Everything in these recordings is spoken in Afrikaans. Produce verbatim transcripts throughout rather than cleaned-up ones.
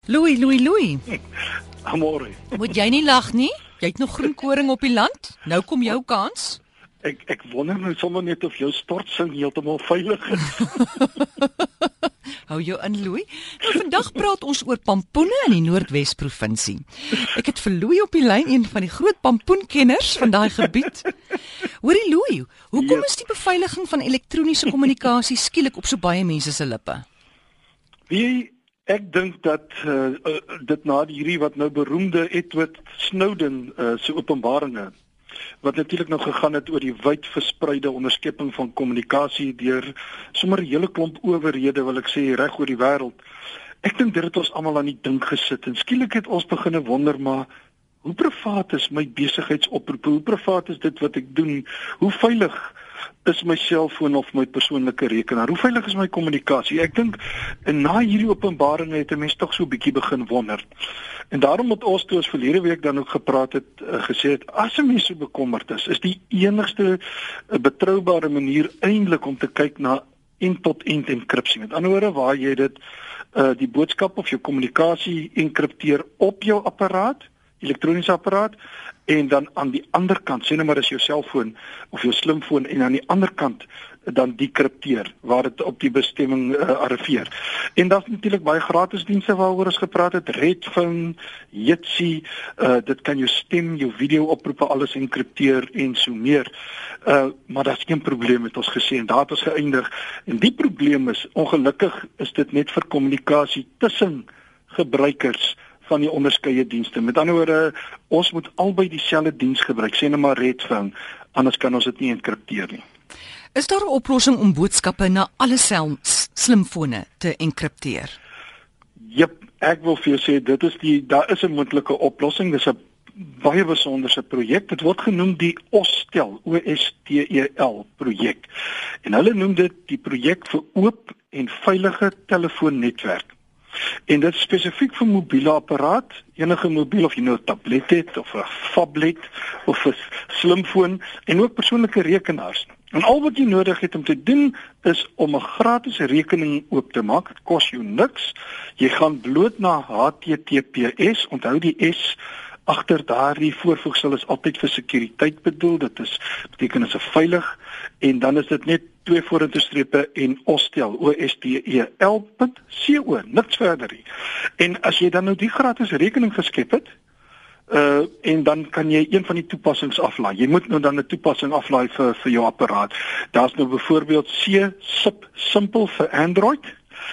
Louis, Louis, Louis. Amore. Moet jy nie lag nie? Jy het nog groen koring op die land. Nou kom jou kans. Ek ek wonder nou sommer net of jou stortsing heeltemal veilig is. Hou jou in, Louis. Nou vandag praat ons oor pampoene in die Noordwes provinsie. Ek het vir Louis op die lyn, een van die groot pampoenkenners van daai gebied. Hoorie Louis, hoekom is die beveiliging van elektroniese kommunikasie skielik op so baie mense se lippe? Wie Ek dink dat uh, uh, dit na hierdie wat nou beroemde Edward Snowden uh, se openbaringe wat natuurlik nou gegaan het oor die wyd verspreide onderskepping van kommunikasie deur sommer 'n hele klomp owerhede, wil ek sê, reg oor die wêreld. Ek dink dit het ons almal aan die dink gesit en skielik het ons begine wonder, maar hoe privaat is my besigheidsoproepe? Hoe privaat is dit wat ek doen? Hoe veilig is my selfoon of my persoonlike rekenaar? Hoe veilig is my kommunikasie? Ek dink en na hierdie openbaringe het 'n mens tog so 'n bietjie begin wonder. En daarom het ons toe ons verlede week dan ook gepraat het, uh, gesê het, as 'n mens so bekommerd is, is die enigste uh, betroubare manier eintlik om te kyk na end-tot-end enkripsie. Met ander woorde, waar jy dit uh, die boodskap of jou kommunikasie enkripteer op jou apparaat, elektroniese apparaat, en dan aan die ander kant, sê nou maar is jou selfoon of jou slimfoon, en aan die ander kant dan dekripteer waar dit op die bestemming uh, arriveer. En daar's natuurlik baie gratis dienste waaroor ons gepraat het, Redphone, Jitsi, uh, dit kan jou stem, jou video oproepe alles enkripteer en so meer. Uh, maar daar's geen probleem met ons gesê en daar het ons geëindig. En die probleem is, ongelukkig is dit net vir kommunikasie tussen gebruikers van die onderskeie dienste. Met ander woorde, ons moet albei dieselfde diens gebruik, sê net maar Redphone, anders kan ons dit nie enkripteer nie. Is daar 'n oplossing om boodskappe na alle sel- slimfone te enkripteer? Jep, ek wil vir jou sê dit is die daar is 'n moontlike oplossing. Dis 'n baie besonderse projek. Dit word genoem die OSTEL, O S T E L projek. En hulle noem dit die projek vir oop en veilige telefoonnetwerk. En dit is spesifiek vir mobiele apparaat, enige mobiel of jy nou 'n tablet het of 'n phablet of 'n slimfoon en ook persoonlike rekenaars. En al wat jy nodig het om te doen is om 'n gratis rekening oop te maak. Dit kos jou niks. Jy gaan bloot na H T T P S, onthou die S agter daardie voorvoegsel is altyd vir sekuriteit bedoel. Dit is beteken dit is veilig en dan is dit net twee vorentoe strepe en OSTEL, O S T E L punt C O, niks verder nie. En as jy dan nou die gratis rekening geskep het, uh en dan kan jy een van die toepassings aflaai. Jy moet nou dan 'n toepassing aflaai vir vir jou apparaat. Daar's nou byvoorbeeld C Sip Simple vir Android.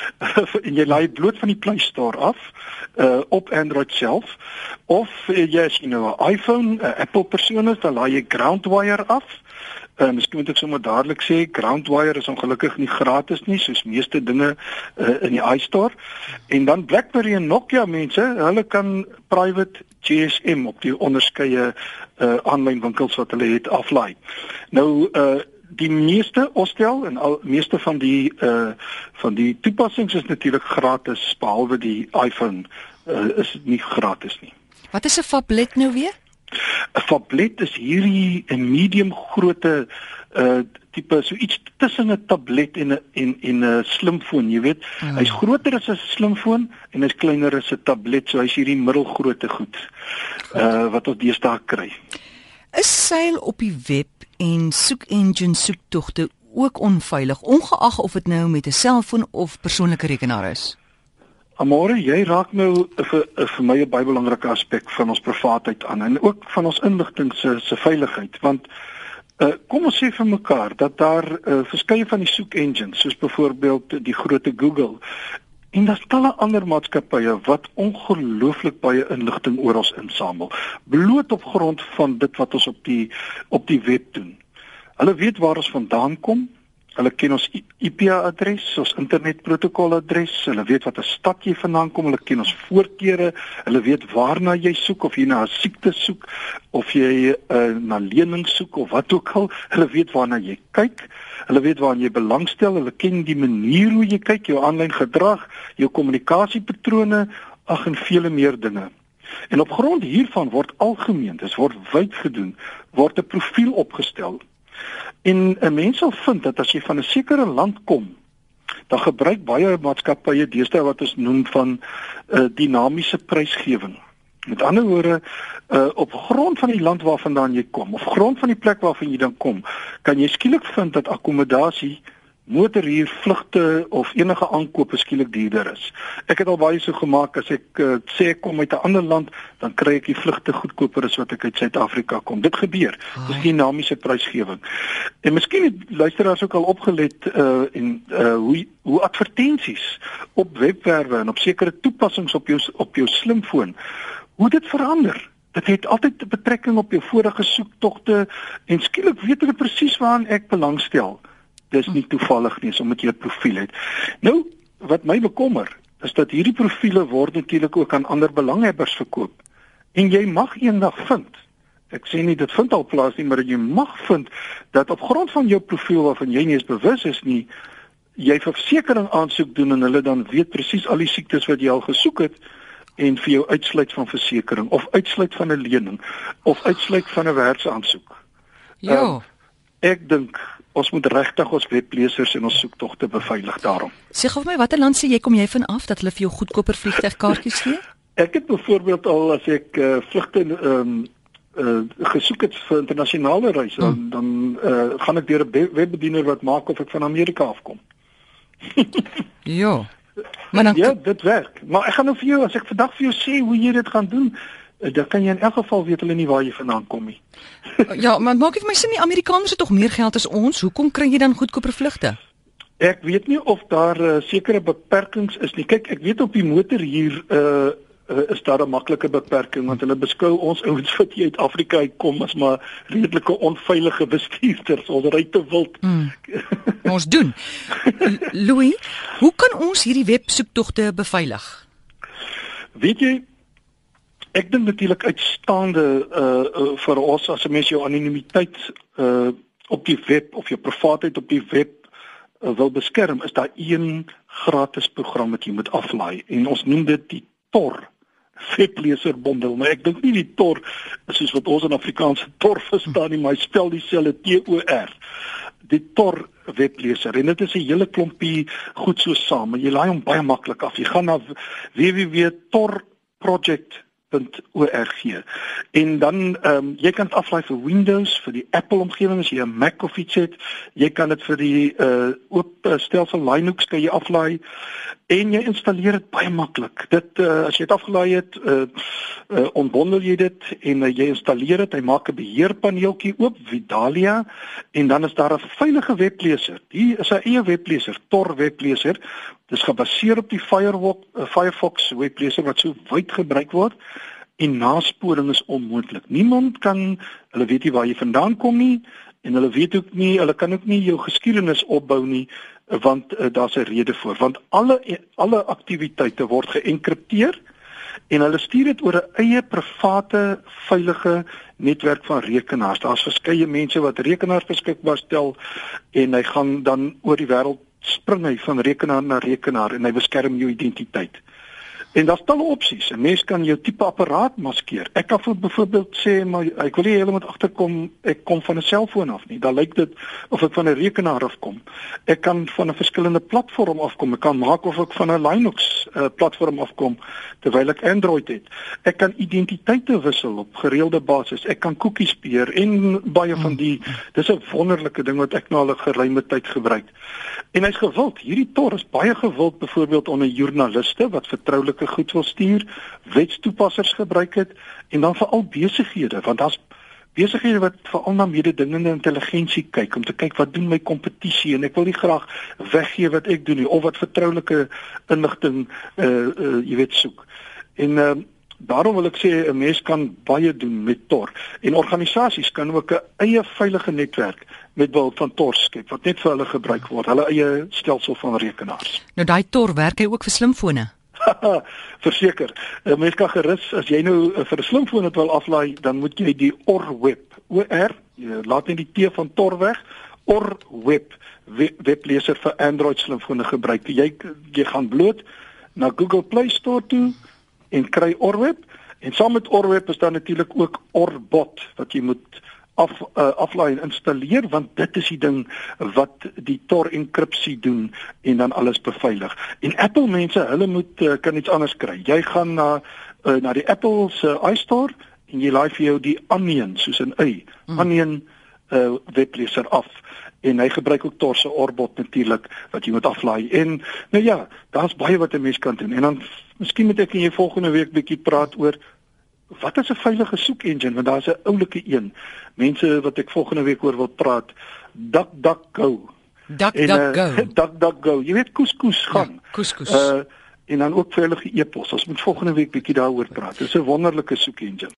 En jy laai bloot van die Play Store af uh op Android self, of uh, jy as jy nou 'n iPhone, 'n Apple persoon is, dan laai jy Groundwire af. Uh, miskien moet ek sommer dadelik sê, Groundwire is ongelukkig nie gratis nie, soos meeste dinge uh, in die iStore. En dan BlackBerry en Nokia mense, hulle kan private G S M op die onderskeie uh, aanlyn winkels wat hulle het aflaai. Nou uh, die meeste OSTEL en al meeste van die uh, van die toepassings is natuurlik gratis, behalwe die iPhone uh, is nie gratis nie. Wat is 'n phablet nou weer? 'n Phablet is hierdie 'n medium grootte uh tipe so iets tussen 'n tablet en 'n en en 'n slimfoon, jy weet. Hmm. Hy's groter as 'n slimfoon en hy's kleiner as 'n tablet, so hy's hierdie middelgrootte goed. Uh wat ons deesdae kry. Is seil op die web en soek engine soektogte ook onveilig, ongeag of dit nou met 'n selfoon of persoonlike rekenaar is? Amore, jy raak nou vir vir my 'n baie belangrike aspek van ons privaatheid aan en ook van ons inligting se se veiligheid, want uh, kom ons sê vir mekaar dat daar uh, verskeie van die soek engines, soos byvoorbeeld die groote Google en daar's talle ander maatskappye wat ongelooflik baie inligting oor ons insamel, bloot op grond van dit wat ons op die op die web doen. Hulle weet waar ons vandaan kom. Hulle ken ons I P adres, ons internetprotokoladres, hulle weet wat 'n stad jy vandaan kom, hulle ken ons voorkeure, hulle weet waarna jy soek, of jy na 'n siekte soek, of jy uh, na lening soek of wat ook al, hulle weet waarna jy kyk, hulle weet waarna jy belangstel, hulle ken die manier hoe jy kyk, jou aanlyn gedrag, jou kommunikasiepatrone, ag en vele meer dinge. En op grond hiervan word algemeen, dis word wyd gedoen, word 'n profiel opgestel. En 'n mens sal vind dat as jy van 'n sekere land kom, Dan gebruik baie maatskappye deesdae wat ons noem van uh, dinamiese prysgewing. Met ander woorde, uh, op grond van die land waarvandaan jy kom, of grond van die plek waarvan jy dan kom, kan jy skielik vind dat akkommodasie, motorhuur, vlugte of enige aankope skielik duurder is. Ek het al baie so gemaak, as ek uh, sê ek kom uit 'n ander land, dan kry ek die vlugte goedkoper as wat ek uit Suid-Afrika kom. Dit gebeur. Dis die dinamiese prysgewing. En miskien het luisteraars ook al opgelet uh, en uh, hoe hoe advertensies op webwerwe en op sekere toepassings op jou op jou slimfoon, hoe dit verander. Dit het altyd 'n betrekking op jou vorige soektogte en skielik weet hulle presies waaraan ek belangstel. Dis nie toevallig nie, omdat jy 'n profiel het. Nou, wat my bekommer, is dat hierdie profiele word natuurlik ook aan ander belanghebbers verkoop. En jy mag eendag vind, ek sê nie dit vind al plaas nie, maar jy mag vind dat op grond van jou profiel waarvan jy nie eens bewus is nie, jy versekering aansoek doen en hulle dan weet presies al die siektes wat jy al gesoek het en vir jou uitsluit van versekering of uitsluit van 'n lening of uitsluit van 'n werksaansoek. Ja. Um, ek dink ons moet regtig ons weblesers en ons soektogte beveilig daarom. Sê gou vir my, watter land sê jy kom jy van af dat hulle vir jou goedkoper vliegtuigkaartjies gee? Ek het byvoorbeeld al as ek uh, vlugte ehm um, uh, gesoek het vir internasionale reise, hmm. dan dan uh, gaan ek deur 'n webbediener wat maak of ek van Amerika afkom. Ja. Maar dan ja, dit werk. Maar ek gaan nou vir jou, as ek vandag vir jou sê hoe jy dit gaan doen, dan kan jy in elk geval weet hulle nie waar jy vandaan kom nie. Ja, maar maak dit vir my sin, die Amerikaners het tog meer geld as ons. Hoekom kry jy dan goedkoper vlugte? Ek weet nie of daar uh, sekere beperkings is nie. Kyk, ek weet op die motorhuur uh, uh, is daar 'n maklike beperking, want hulle beskou ons ouens wat hier uit Afrika uitkom as maar redelike onveilige bestuurders. Ons ry te wild. Mm. Ons doen. Louis, hoe kan ons hierdie websoektogte beveilig? Weet jy, ek dink natuurlik uitstaande uh, uh, vir ons as 'n mens jou anonimiteit uh, op die web of jou privaatheid op die web uh, wil beskerm, is daar een gratis program wat jy moet aflaai en ons noem dit die Tor webleserbondel. Maar ek dink nie die Tor is soos wat ons in Afrikaanse Tor verstaan nie, maar hy spel dieselfde T O R. Die Tor webleser en dit is 'n hele klompie goed so saam. Jy laai hom baie maklik af. Jy gaan na w w w punt tor project punt org en dan um, jy kan dit aflaai vir Windows, vir die Apple omgewing as jy 'n Mac of iets het. Jy kan dit vir die uh, oop uh, stelsel Linux kan jy aflaai en jy installeer dit baie maklik. Dit uh, as jy dit afgelaai het, uh, uh, ontbondel jy dit en uh, jy installeer dit. Hy maak 'n beheerpaneeltjie oop, Vidalia, en dan is daar 'n veilige webleser. Die is 'n eie webleser, Tor webleser. Dit is gebaseer op die Firefox, uh, Firefox webleser wat so wyd gebruik word en nasporing is onmoontlik. Niemand kan, hulle weet nie waar jy vandaan kom nie en hulle weet ook nie, hulle kan ook nie jou geskiedenis opbou nie want uh, daar's 'n rede voor, want alle alle aktiwiteite word geënkripteer en hulle stuur dit oor 'n eie private veilige netwerk van rekenaars. Daar's verskeie mense wat rekenaars beskikbaar stel en hy gaan dan oor die wêreld spring hy van rekenaar na rekenaar en hy beskerm jou identiteit. En daar's talle opsies. 'n Mens kan jou tipe apparaat maskeer. Ek kan byvoorbeeld sê maar ek wil nie heeltemal agterkom ek kom van 'n selfoon af nie. Dan lyk dit of ek van 'n rekenaar af kom. Ek kan van 'n verskillende platform afkom. Ek kan maak of ek van 'n Linux uh, platform afkom terwyl ek Android het. Ek kan identiteite wissel op gereelde basis. Ek kan cookies beheer en baie van die dis 'n wonderlike ding wat ek nou al 'n geruime tyd gebruik. En hy's gewild. Hierdie Tor is baie gewild byvoorbeeld onder joernaliste wat vertroulike goed wil stuur, wetstoepassers gebruik het en dan veral besighede, want daar's besighede wat veral na mededingende intelligensie kyk om te kyk wat doen my kompetisie en ek wil nie graag weggee wat ek doen nie of wat vertroulike inligting uh, uh, jy weet soek. En uh, daarom wil ek sê 'n mens kan baie doen met Tor en organisasies kan ook 'n eie veilige netwerk met behulp van Tor skep wat net vir hulle gebruik word, hulle eie stelsel van rekenaars. Nou daai Tor werk hy ook vir slimfone. Verseker. 'n Mens kan gerus as jy nou uh, vir 'n slimfoon dit wil aflaai, dan moet jy die Orweb, O R, jy laat net die T van Tor weg, Orweb webleser vir Android slimfone gebruik. Jy jy gaan bloot na Google Play Store toe en kry Orweb en saam met Orweb is daar natuurlik ook Orbot wat jy moet af uh, aflaai en installeer, want dit is die ding wat die Tor enkripsie doen en dan alles beveilig. En Apple mense, hulle moet uh, kan iets anders kry. Jy gaan na uh, na die Apple se uh, iStore en jy laai vir jou die Onion, soos 'n y, mm. Onion uh, webleser af. En hy gebruik ook Tor se Orbot natuurlik wat jy moet aflaai. En nou ja, daar's baie wat 'n mens kan doen. En dan miskien moet ek en jy volgende week bietjie praat oor wat is 'n veilige soek engine, want daar's 'n oulike een. Mense wat ek volgende week oor wil praat, DuckDuckGo. DuckDuckGo. Uh, DuckDuckGo. Jy weet koeskoes gaan. Ja, koeskoes. Uh en dan ook veilige e-pos. Ons moet volgende week bietjie daaroor praat. Dis 'n wonderlike soek engine.